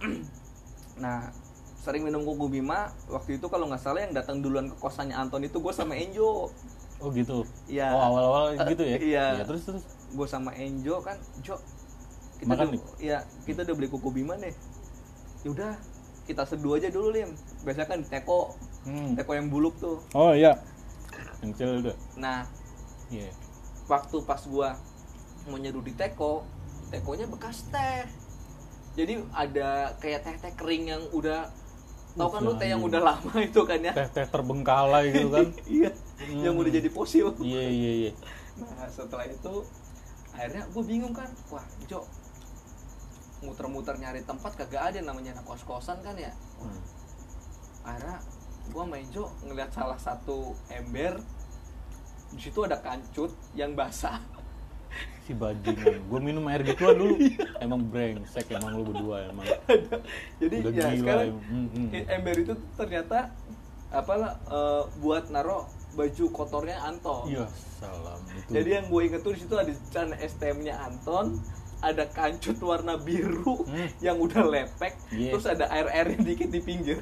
Nah, sering minum Kuku Bima. Waktu itu kalau nggak salah yang datang duluan ke kosannya Anton itu gue sama Enjo. Oh gitu. Iya. Oh awal-awal gitu ya? Iya. Ya, terus terus. Gue sama Enjo kan, Jo. Kita udah, ya kita udah beli Kuku Bima nih. Yaudah. Kita seduh aja dulu, Lim. Biasanya kan di teko, hmm. teko yang buluk tuh. Oh iya, yang kecil udah. Nah, yeah. waktu pas gua mau nyeduh di teko, tekonya bekas teh. Jadi ada kayak teh-teh kering yang udah, tau kan lu teh yang udah lama itu kan ya? Teh-teh terbengkalai gitu kan? Iya, hmm. yang udah jadi fosil. Iya iya iya. Nah setelah itu, akhirnya gua bingung kan, wah Jo, muter-muter nyari tempat kagak ada, namanya anak kos-kosan kan ya. Hmm. Akhirnya gue main Jo ngeliat salah satu ember, di situ ada kancut yang basah. Si bajingan, gue minum air gituan dulu. Emang brengsek emang lu berdua emang. Jadi udah ya gila, sekarang hmm, hmm. ember itu ternyata apalah uh, buat naro baju kotornya Anton. Iya salam itu. Jadi yang gue inget tuh di situ ada celana S T M-nya Anton. Ada kancut warna biru hmm. yang udah lepek, yeah. terus ada air-airnya dikit di pinggir.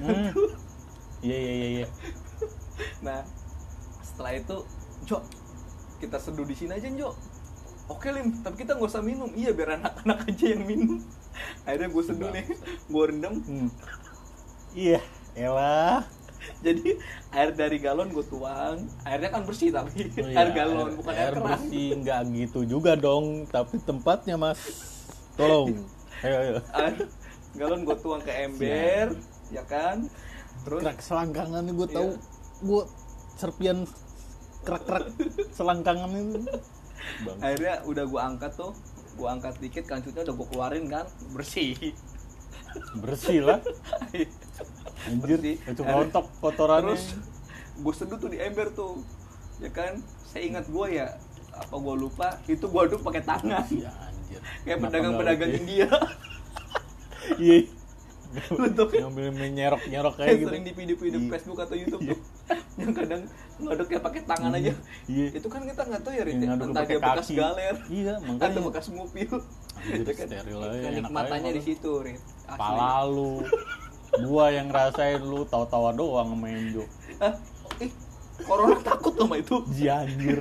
Iya iya iya iya. Nah, setelah itu, Jo, kita seduh di sini aja, Jo. Oke, Lim, tapi kita nggak usah minum. Iya, biar anak-anak aja yang minum. Akhirnya gue seduh nih, gue rendam. Hmm. Iya, elah. Jadi air dari galon gue tuang, airnya kan bersih tapi oh iya, air galon bukan air, air keran. Air bersih nggak gitu juga dong, tapi tempatnya mas, tolong. Ayo ayo. Air galon gue tuang ke ember, ya kan. Terus kerak selangkangan gue tahu, iya. gue serpian kerak-kerak selangkangan itu. Bang. Akhirnya udah gue angkat tuh, gue angkat dikit kancutnya udah gue keluarin kan, bersih. Bersih lah. Anjir, itu rontok kotorannya. Terus gue seduh tuh di ember tuh, ya kan. Saya ingat gue ya, apa gue lupa, itu gue aduk pakai tangan. Ya anjir. Kayak pedagang-pedagang India. Iya. Untuk ngambil nyerok-nyerok kayak gitu. Sering di video-video Facebook atau YouTube tuh. Yang kadang ngaduknya pakai tangan aja. Iya. Itu kan kita nggak tahu ya, Rit. Entah dia bekas galer. Iya, makanya. Atau bekas ngupil. Anjir, steril aja. Nikmatannya di situ, Rit. Pala lu. Gua yang ngerasain, lu tawa-tawa doang sama Enjo. Ah, ih, corona takut sama itu. Janjir.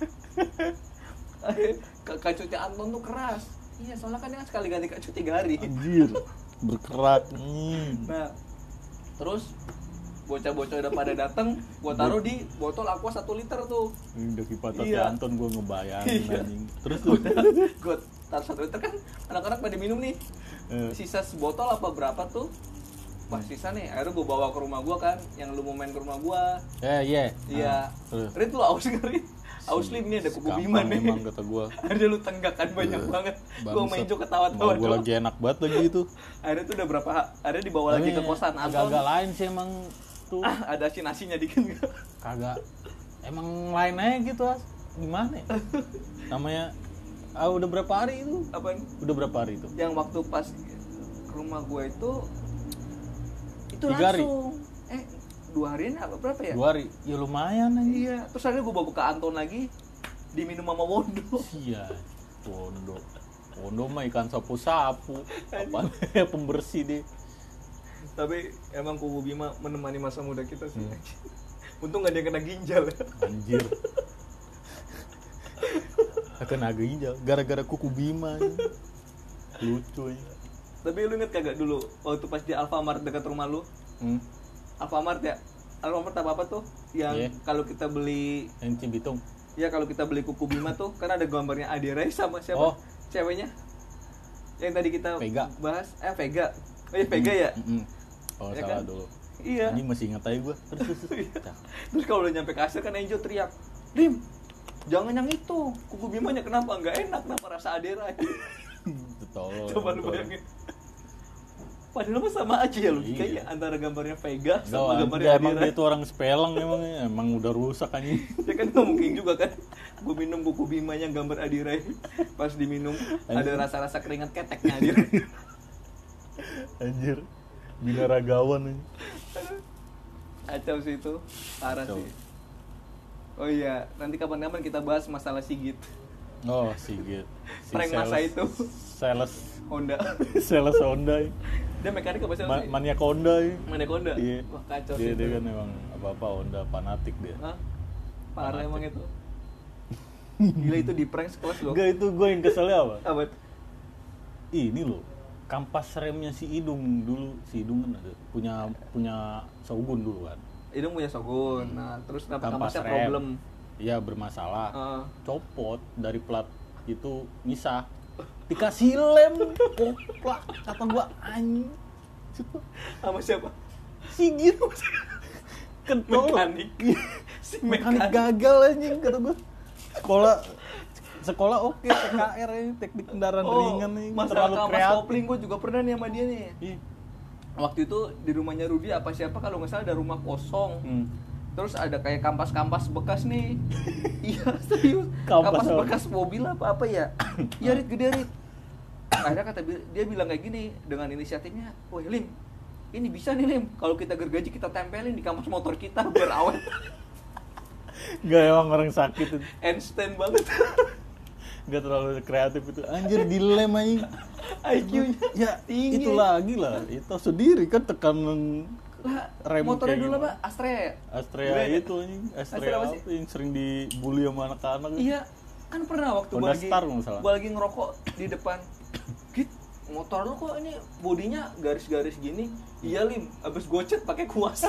Kacutnya Anton tuh keras. Iya, soalnya kan dia sekali ganti kacut tiga hari. Anjir, berkerak. Hmm. Nah, terus bocah-bocah udah pada datang, gua taruh di botol aqua satu liter tuh. Ini udah kipatat Iya. Anton gua ngebayangin Iya. anjing. Terus tuh Gua taruh satu liter kan anak-anak pada minum nih. eh, Sisa sebotol apa berapa tuh? Wah sisa nih, akhirnya gue bawa ke rumah gue kan, yang lu mau main ke rumah gue. eh iya. Iya. Ah, terus. Rit lu aus nggak Rit? Aus lim nih ada kuku Bima Gampang nih. emang kata gua. Akhirnya lu tenggak kan banyak banget. Gue main Bangsat. juga ketawa-tawa Mau gua doang. lagi enak banget lagi itu. Akhirnya tuh udah berapa? Akhirnya dibawa lagi ke kosan Anton. Agak-agak lain sih emang tuh. Ah, ada si nasinya dikit nggak? Kagak. Emang lain aja gitu as. Gimana ya? Namanya ah, udah berapa hari itu? Apaan? Udah berapa hari itu? Yang waktu pas ke rumah gue itu itu Tiga hari? langsung. Eh dua harian apa berapa ya? Dua hari. Ya lumayan aja. Iya. Terus akhirnya gue bawa ke Anton lagi, diminum sama Wondo. Iya. Wondo. Wondo mah ikan sapu-sapu. Apaan ya pembersih deh. Tapi emang kuku Bima menemani masa muda kita sih. Hmm. Untung gak ada yang kena ginjal ya. Anjir. Akan agak ginjal gara-gara kuku Bima. Ya. Lucu ya. Tapi lu inget kagak dulu waktu pas di Alfamart dekat rumah lu? Hmm. Alfamart ya? Alfamart apa apa tuh? Yang Yeah. kalau kita beli, Yang Cibitung. ya kalau kita beli kuku Bima tuh kan ada gambarnya Ade Rai sama siapa? Oh. Ceweknya? Yang tadi kita Vega. bahas, eh Vega. Oh iya Vega ya? Mm-mm. Oh Ya salah kan? dulu. Iya. Ini masih ingat aja gue. Terus terus. terus. Iya. Cak. Terus kalau udah nyampe kasir kan Enjo teriak, Lim, jangan yang itu, kuku Bimanya kenapa? Nggak enak, kenapa rasa Ade Rai? Tolol. Coba lu bayangin. Padahal mah sama aja ya logikanya Iya. antara gambarnya Vega sama Sama gambarnya emang Adira. dia itu orang Spelang emang emang udah rusak anjing. Ya kan nggak mungkin juga kan. Gue minum buku Bimanya gambar Adira. Pas diminum ada rasa-rasa keringat keteknya Adira. Anjir. Binaragawan anjing. Kacau sih itu, parah Kacau. sih. Oh iya, nanti kapan-kapan kita bahas masalah Sigit. Oh, Sigit. Si Prank masa itu. Sales Honda. sales Honda. ya. Dia mekanik apa sih? Ma- maniak Honda. ya. Mana Honda? Iya. Wah kacau Dia, sih. dia itu. kan emang apa-apa Honda fanatik dia. Hah? Parah Fanatik. emang itu. Gila itu di prank sekelas loh. Enggak itu gue yang keselnya apa? Apa? Ini loh. Kampas remnya si Idung dulu, si Idung kan ada punya punya Shogun dulu kan. Idung punya Shogun. Nah, terus kenapa Kampas kampasnya rem. problem? Iya bermasalah. Heeh. Copot dari plat itu misah. Dikasih lem, koplak kata gua anjing. Sama siapa? Sigit. Kentol. Mekanik. Si Mekanik mekanik. gagal anjing kata gua. Sekolah sekolah oke T K R ini teknik kendaraan ringan nih masalah terlalu kampas kreatif. kopling gue juga pernah nih sama dia nih. Ih. Waktu itu di rumahnya Rudi apa siapa kalau nggak salah ada rumah kosong. Hmm. Terus ada kayak kampas-kampas bekas nih. Iya serius. Kampas Kampas apa? bekas mobil apa apa ya? Iya Rit gede Rit. Akhirnya kata bi- dia bilang kayak gini dengan inisiatifnya, "Wah Lim, ini bisa nih Lim. Kalau kita gergaji kita tempelin di kampas motor kita biar awet." Gak emang orang sakit itu. Einstein banget. Gak terlalu kreatif itu. Anjir dilem anjing. I Q-nya Ya tinggi. itu lagi lah. Itu sendiri kan tekanan Lah, rem motornya kayak dulu gimana? apa? Astrea ya? Astrea Brand. itu anjing. Astrea Astrea apa apa sih? yang sering dibully sama anak-anak. Iya, kan pernah waktu gue Honda lagi, Star nggak salah. gua lagi ngerokok di depan. Git, motor lu kok ini bodinya garis-garis gini? Iya Lim, abis gue cat pakai kuas.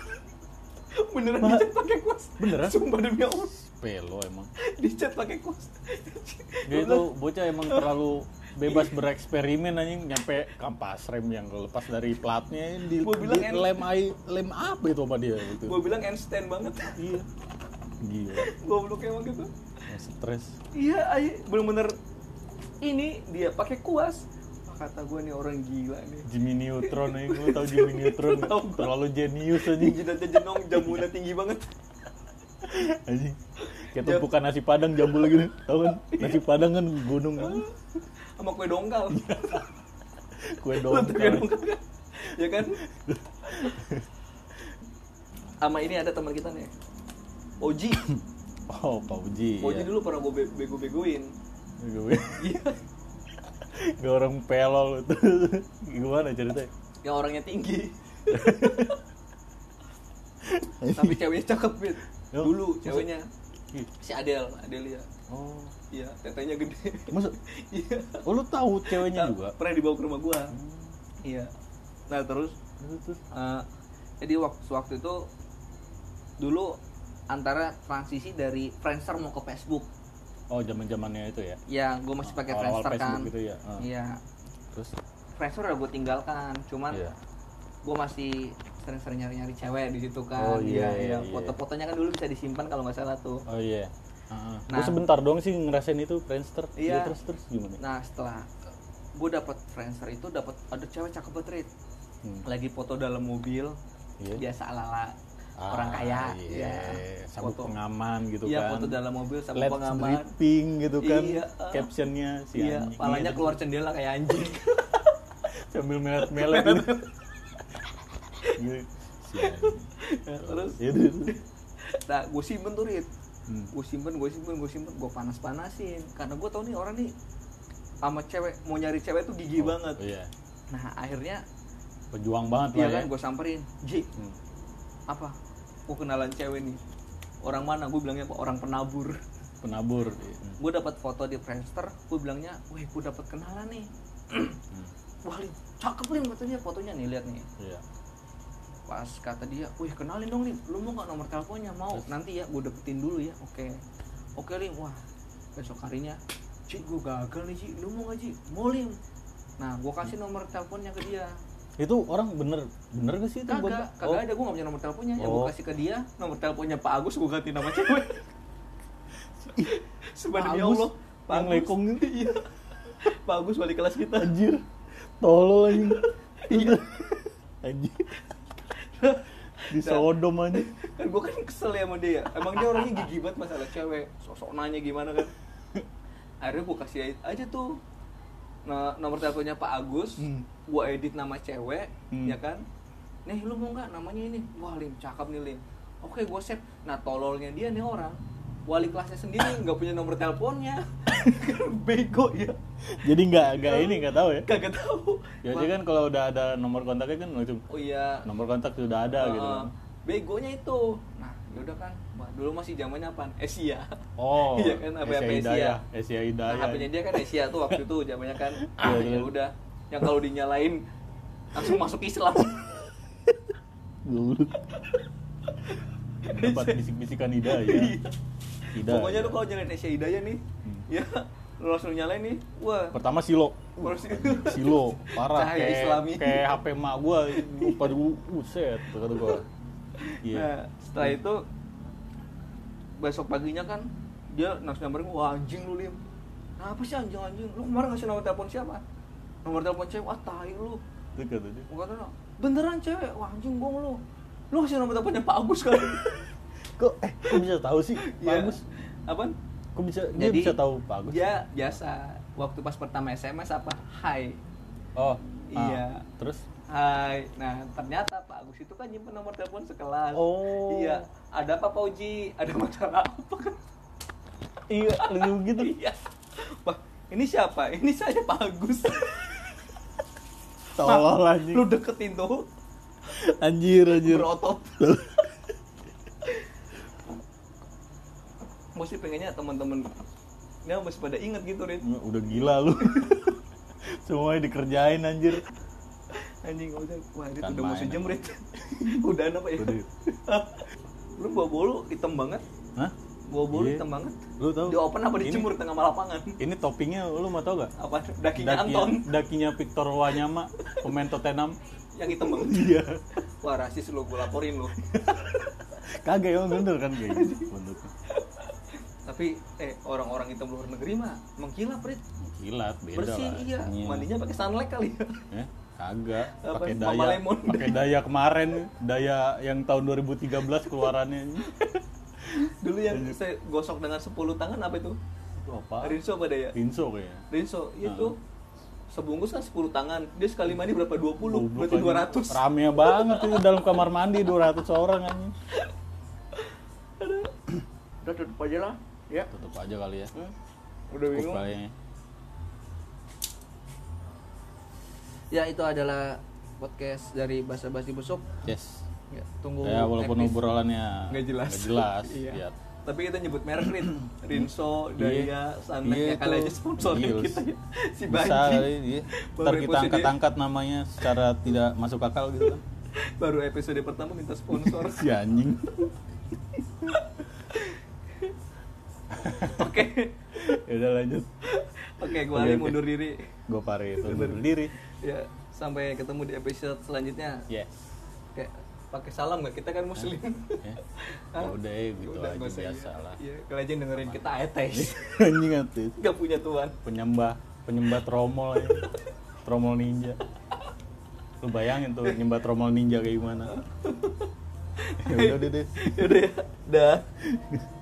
Beneran Ma- dicat pakai kuas. Beneran? Sumpah demi Allah, Pelo emang. dicat pakai kuas. Dia itu bocah emang terlalu bebas bereksperimen anjing nyampe kampas rem yang lepas dari platnya di, Gua bilang di en- lem ai lem apa itu sama dia gitu. Gue bilang Einstein banget. Iya. Gila. Goblok emang gitu. Stres. Iya, ay, bener-bener ini dia pakai kuas. Wah, kata gue nih orang gila nih. Jimmy Neutron nih, gue tau Jimmy Neutron nggak? Tahu gua. Terlalu jenius anjing. Jidatnya jenong, jambunya tinggi banget. Anjing. Kayak tumpukan nasi padang jambul gitu. Tahu kan? Nasi padang kan gunung kan. Sama kue dongkal. Kue Lu tahu kue dongkal. dongkal kan? Ya kan? Sama ini ada teman kita nih. Oji. Oh, Pak Uji. Oji ya. dulu pernah gue be- bego-begoin. Gue. Iya. Gak orang pelol itu. Gimana ceritanya? Yang orangnya tinggi. Tapi ceweknya cakep, Bit. Yo, Dulu masa- ceweknya Ih. si Adel, Adelia. Oh. Iya, tetenya gede. Masa? Iya. Oh, lu tahu ceweknya Nah, juga? Pernah dibawa ke rumah gua. Iya. Nah, terus Terus, terus. uh, Jadi waktu waktu itu dulu antara transisi dari Friendster mau ke Facebook. Oh, zaman-zamannya itu ya. Ya, gue masih pakai Awal-awal Friendster kan. gitu ya. Uh. Iya. Terus Friendster udah gue tinggalkan, cuman iya. gue masih sering-sering nyari-nyari cewek di situ kan. Oh, iya, iya, iya. Foto-fotonya kan dulu bisa disimpan kalau nggak salah tuh. Oh iya. Uh, Nah, gue sebentar doang sih ngerasain itu Friendster. Iya. Ya, terus terus gimana? Nah, setelah gue dapet Friendster itu dapat ada cewek cakep banget, Rit. Hmm. Lagi foto dalam mobil. Iya. Biasa ala-ala ah, orang kaya. Iya. Ya. Sabuk foto pengaman gitu iya, kan. Iya, foto dalam mobil sabuk Let's pengaman. dripping gitu kan. Iya. Uh, Captionnya si iya, anjing. palanya keluar jendela kayak anjing. Sambil melet-melet gitu. Si nah, terus nah gue simpen tuh, Rit. Hmm. gue simpen gue simpen gue simpen gue panas-panasin karena gue tau nih orang nih sama cewek mau nyari cewek tuh gigi oh, banget. Iya. Nah akhirnya pejuang banget iya lah kan, ya. Gue samperin, Ji, hmm. apa? Gue kenalan cewek nih. Orang mana? Gue bilangnya apa? Orang penabur. Penabur. Iya. Hmm. Gue dapat foto di Friendster. Gue bilangnya, wih, gue dapat kenalan nih. hmm. Wah, Lim, cakep Lim fotonya, fotonya nih, lihat nih. Iya. Pas kata dia, wih, kenalin dong Lim. Lu mau nggak nomor teleponnya? Mau. Terus? Nanti ya, gue deketin dulu ya. Oke. Oke Lim. Wah, besok harinya, Ci, gue gagal nih Ci. Lu mau nggak Ci? Mau Lim. Nah, gue kasih nomor teleponnya ke dia. Itu orang bener bener gak sih itu? Kagak, kagak oh. ada, gue gak punya nomor teleponnya. Ya oh. gue kasih ke dia nomor teleponnya Pak Agus, gue ganti nama cewek. Subhanallah ya Allah, Pak yang lekong gitu. Iya. Pak Agus wali kelas kita. Anjir, tolol anjing. Iya. Anjir. Disodom aja. Kan gue kan kesel ya sama dia. Emang dia orangnya gigi banget masalah cewek. Sosok nanya gimana kan. Akhirnya gue kasih aja tuh nah, nomor teleponnya Pak Agus, hmm. gue edit nama cewek, hmm. ya kan? Nih lu mau nggak namanya ini? Wah Lim, cakep nih Lim. Oke, gue save. Nah tololnya dia nih orang, wali kelasnya sendiri nggak punya nomor teleponnya, bego ya. Jadi nggak nggak ini nggak tahu ya? Kagak tahu. Ya jadi kan kalau udah ada nomor kontaknya kan langsung. Oh iya. Nomor kontak sudah ada uh, gitu. Kan. Begonya itu. Nah, yaudah kan. Wah, dulu masih zamannya apaan? Asia. Oh. Iya kan, H P Asia Hidayah. Asia Hidayah. Nah, H P-nya dia kan Asia tuh waktu itu zamannya kan. Ah, ya udah. Yang kalau dinyalain langsung masuk Islam. Goblok. Dapat bisik-bisikan Hidayah. Hidayah. Pokoknya lu kalau nyalain Asia Hidayah nih, hmm. ya lu langsung nyalain nih. Wah. Pertama Silo. Silo parah cahaya kayak Islami. Kayak H P emak gua lupa dulu buset kata gua. Iya. Yeah. Nah, setelah itu besok paginya kan dia langsung nyamperin, wah anjing lu Lim. Nah, apa sih anjing-anjing? Lu kemarin ngasih nomor telepon siapa? Nomor telepon cewek, wah tai lu. Itu kata dia. Gua kata, beneran cewek, wah anjing bohong lu. Lu ngasih nomor teleponnya Pak Agus kali. Kok eh kok bisa tahu sih Pak ya. Agus? Apaan? Kok bisa dia Jadi, bisa tahu Pak Agus? Dia biasa. Waktu pas pertama S M S apa? Hai. Oh. Iya. Ah, terus? Hai. Nah, ternyata Pak Agus itu kan nyimpen nomor telepon sekelas. Oh. Iya. Ada apa Pak Uji? Ada masalah apa kan? Iya, lu gitu. Iya. Wah, ini siapa? Ini saya Pak Agus. Tolol anjing. Lu deketin tuh. Anjir, anjir. Berotot. Mesti pengennya teman-teman ya masih pada inget gitu, Rit. Udah gila lu. Semuanya dikerjain anjir. Anjing udah, wah Rit udah mau sejam, Rit. Udah apa ya? Udah. Lu bawa bolu hitam banget. Hah? Bawa bolu yeah. hitam banget. Lu tahu? Di open apa dijemur tengah lapangan? Ini toppingnya lu mau tau gak? Apa? Dakinya Daki, Anton. Dakinya Victor Wanyama, pemain Tottenham. Yang hitam banget. Iya. Wah, rasis lu, gua laporin lu. Kagak emang bener kan kayak gitu bentuknya. Tapi eh orang-orang hitam luar negeri mah mengkilap, Rit. Mengkilap, beda bersih, lah. Iya. Iya. Mandinya pakai sunlight kali ya. Eh, kagak. Pakai daya. Pakai daya kemarin, daya yang tahun dua ribu tiga belas keluarannya. Dulu yang saya gosok dengan sepuluh tangan apa itu? Itu apa? Rinso apa daya? Rinso kayaknya. Rinso, itu. Nah. Sebungkus kan sepuluh tangan. Dia sekali mandi berapa? dua puluh. Oh, berarti dua ratus. Rame banget itu dalam kamar mandi dua ratus orang anjing. Udah tutup aja lah. Ya. Tutup aja kali ya. Hmm? Udah bingung. Ya, itu adalah podcast dari Basa Basi Busuk. Yes. Ya, tunggu. Ya, walaupun obrolannya nggak jelas. Nggak jelas. Iya. Ya. Tapi kita nyebut merek, Rin. Rinso, Daya, Sunlight, ya kali aja sponsorin kita ya. Si Banji. Bisa kali, iya. Ntar kita angkat-angkat namanya secara tidak masuk akal gitu kan. Baru episode pertama minta sponsor. Si anjing. Oke. Ya udah lanjut. Oke, gue Oke, Ali oke. mundur diri. Gue Pare itu undur diri. Ya, sampai ketemu di episode selanjutnya. Yes. Kayak pakai salam nggak? Kita kan muslim. Ya. Ya udah ya gitu Udah, aja nggak usah, biasa iya. lah. Iya, kalian dengerin kita ateis. Anjing atis. Gak punya Tuhan. Penyembah, penyembah tromol ya. Tromol ninja. Lu bayangin tuh nyembah tromol ninja kayak gimana. Ya udah deh. Udah ya. Dah.